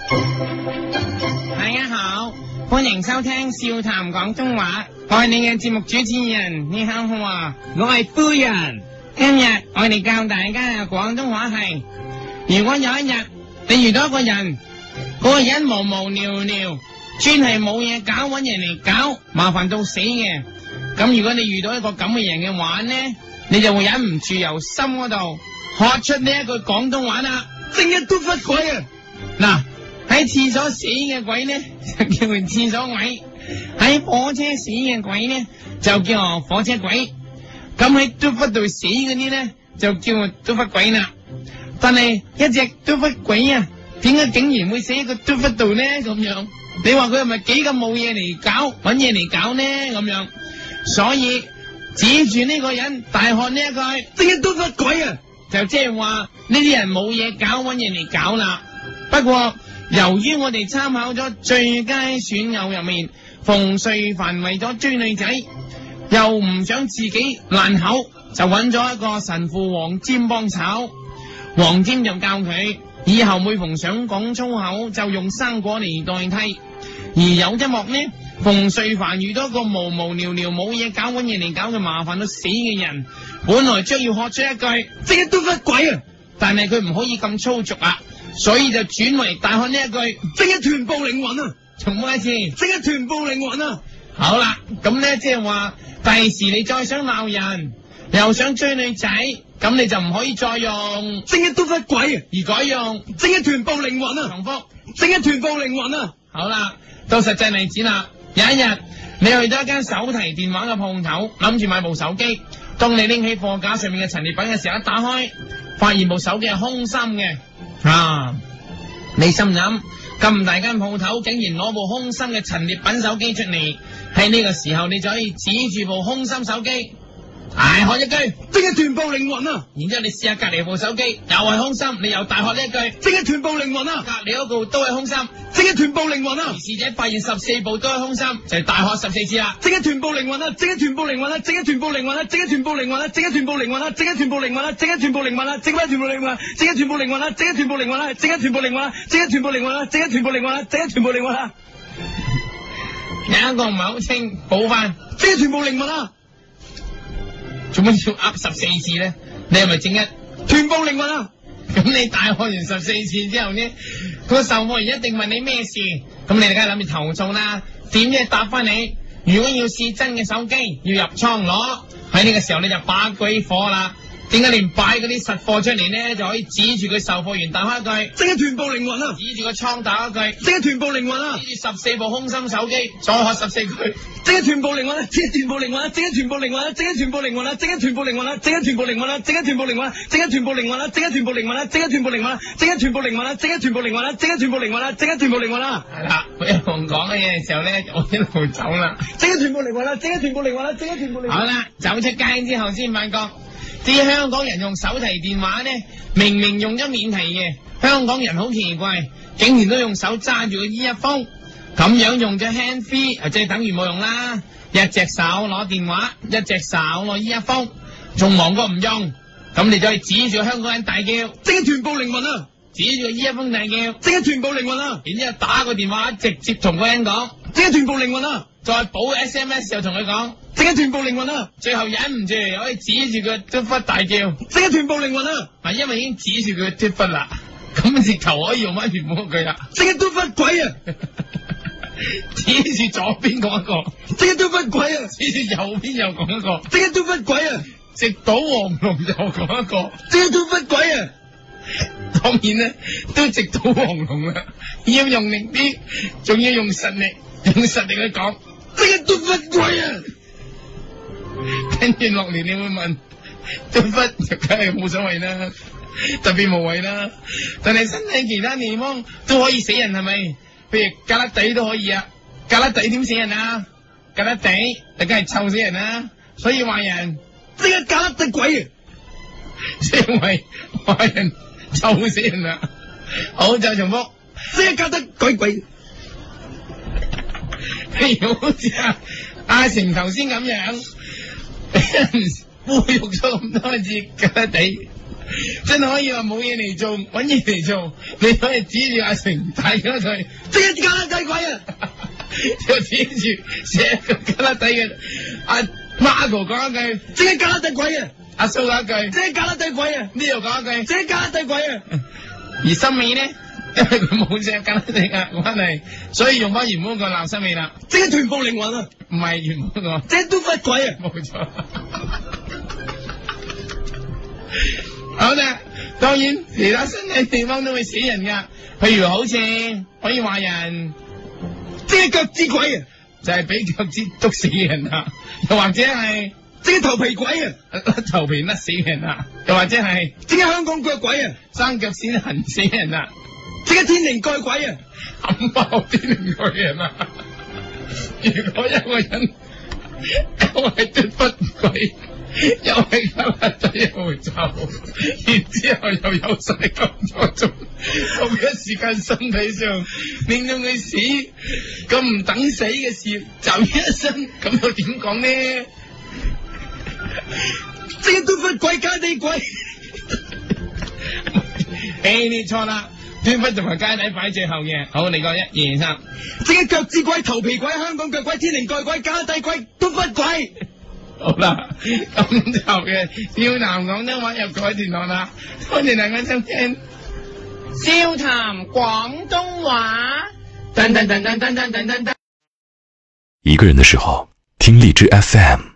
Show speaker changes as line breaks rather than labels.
大家好，歡迎收聽笑談廣東話，我係你嘅節目主持人，你好啊，
我係夫人。
今日我哋教大家嘅廣東話係：如果有一日你遇到一個人，嗰個人無無聊聊，專係冇嘢搞，搵人嚟搞，麻煩到死嘅，咁如果你遇到一個咁嘅人嘅話呢，你就會忍唔住由心嗰度學出呢一句廣東話啦，
正一都忽鬼啊！
嗱，喺廁所死嘅鬼呢就叫做廁所鬼，喺火車死嘅鬼呢就叫做火車鬼，咁喺嘟忽度死嗰啲呢就叫做嘟忽鬼啦。但係一隻嘟忽鬼啊，點解竟然會死喺個嘟忽度呢？咁樣你話佢係咪幾咁冇嘢嚟搞，搵嘢嚟搞呢？咁樣，所以指住呢個人大喝呢一句
正一都忽鬼啊！
就即係話呢啲人冇嘢搞，搵嘢嚟搞啦。不過由於我哋參考咗最佳損友入面，馮瑞凡為咗追女仔，又唔想自己爛口，就揾咗一個神父黃霑幫手。黃霑就教佢以後每逢想講粗口，就用生果嚟代替。而有一幕呢，馮瑞凡遇到一個無無聊聊冇嘢搞，揾嘢嚟搞嘅麻煩到死嘅人，本來將要學出一句
正一都忽鬼啊！
但係佢唔可以咁粗俗啊，所以就轉為大喝呢一句
正一臀部靈魂啊！
重複一次，
正一臀部靈魂啊！
好啦，咁咧即係話第時你再想鬧人，又想追女仔，咁你就唔可以再用
正一都忽鬼啊，
而改用
正一臀部靈魂啊！
重複
正一臀部靈魂啊！
好啦，到實際例子啦。有一日你去到一間手提電話嘅鋪頭，諗住買部手機，當你拎起貨架上面嘅陳列品嘅時候，一打開發現部手機係空心嘅啊！你心諗咁大間鋪頭竟然攞部空心嘅陳列品手機出嚟，喺呢個時候你就可以指住部空心手機大喝一句
正一臀部靈魂啊！
然之後你試下隔籬部手機又係空心，你又大喝呢一句
正一臀部靈魂啊！
隔籬嗰部都係空心，
正一臀部靈魂啊！
而侍者發現14部都係空心，就係大喝14次啦！
正一臀部靈魂啊！正一臀部靈魂啊！正一臀部靈魂啊！正一臀部靈魂啊！正一臀部靈魂啊！正一臀部靈魂啊！正一臀部靈魂啊！正一臀部靈魂啊！正一臀部靈魂啊！正一臀部靈魂啊！正一臀部靈魂啊！正一臀部靈魂啊！正一臀部靈魂啊！正一臀部靈魂啊！
有一個唔係好清，補翻
正一臀部靈魂啊！
做乜要噏14次咧？你係咪正一
臀部靈魂啊？
咁你大喝完14次之後呢，個售貨員一定問你咩事，咁你哋梗係諗住投訴啦。點知答翻你，如果要試真嘅手機，要入倉攞，喺呢個時候你就把鬼火啦。點解連擺嗰啲實貨出嚟呢，就可以指住佢售貨員打開一句
正一臀部靈魂啊！
指住個倉打一句
正一臀部靈魂啊！
指住14部空心手機再喝14句
正一臀部靈魂啊！正一臀部靈魂啊！正一臀部靈魂啊！正一臀部靈魂啊！正一臀部靈魂啊！正一臀部靈魂啊！正一臀部靈魂啊！正一臀部靈魂啊！正一臀部靈魂啊！正一臀部靈魂啊！正一臀部靈魂啊！正一臀部靈魂啊！正一臀部靈魂啊！正一臀部靈魂啊！
係啦，佢一路講嘅嘢嘅時候咧，我一路走啦。
正一臀部靈魂啊！正一臀部靈魂啊！正一臀部靈魂。
好啦，走出街之後先發覺，啲香港人用手提電話呢，明明用咗免提嘅，香港人好奇怪，竟然都用手揸住個 earphone，咁樣用咗 hand free，即係等於冇用啦。一隻手攞電話，一隻手攞 earphone，仲忙過唔用。咁你就可以指住香港人大叫，
正一臀部靈魂啊！
指住個 earphone 大叫，
正一臀部靈魂啊！
然之後打個電話直接同個人講，
正一臀部靈魂啊！
再補 SMS 又同佢講，
正一臀部靈魂啊！
最後忍唔住可以指住佢嘟忽大叫，
正一臀部靈魂啊！
係因為已經指住佢嘟忽啦，咁直頭可以用翻原本嗰句啦。
正一嘟忽鬼啊！
指住左邊講一個，
正一嘟忽鬼啊！
指住右邊又講一個，
正一嘟忽鬼啊！
直搗黃龍又講一個，
正一嘟忽鬼啊！
當然咧都直搗黃龍啦，要用力啲，仲要用實力，用實力去講，
正一嘟忽鬼啊！
跟住落嚟你會問，嘟忽就梗係冇所謂啦，特別無謂啦，但係身體其他地方都可以死人係咪？譬如胳肋底都可以啊，胳肋底點死人啊？胳肋底就梗係臭死人啦，所以話人
正一胳肋底鬼啊！
即係為話人臭死人啦。好，就重複，
正一胳肋底鬼。
譬如好似阿成頭先咁樣，俾人侮辱咗咁多次胳肋底， 真係可以話冇嘢嚟做，搵嘢嚟做，你可以指住阿成睇咗佢，
即係加拉底鬼啊！
就指住寫個加拉底嘅阿 Marco 講一句，
即係加拉底鬼啊！
阿蘇講一句，
即係加拉底鬼啊！
呢度講一句，
即係加拉底鬼啊！
而森美咧，因為佢冇隻加拉底嘅關係，所以用翻原本個鬧森美啦。
即係臀部靈魂啊！
唔係原本個，
即係都忽鬼啊！
冇錯。好啦，當然其他身體地方都會死人噶，譬如好似可以話人，
即係腳趾鬼啊！
就係俾腳趾篤死人啊，又或者係
即係頭皮鬼啊！
頭皮甩死人啊，又或者係
即係香港腳鬼啊！
生腳先痕死人啊，
即係天靈蓋鬼啊！
冚爆天靈蓋人啊！如果一個人又係脫骨鬼，又係加拉底又會走，然之後又有晒咁多種，同一時間身體上令到佢死咁唔等死嘅事，就一身咁又點講呢？
即係都忽鬼加地鬼，
你錯啦，脫骨同埋街底擺最後嘅。好，你講1、2、3，
即係腳趾鬼、頭皮鬼、香港腳鬼、天靈蓋鬼、加底鬼、都忽鬼。
好啦，咁就嘅笑談廣東話又改段落啦，多謝大家收聽笑談廣東話。噔噔噔噔噔噔噔噔。
一個人的時候，聽荔枝 FM。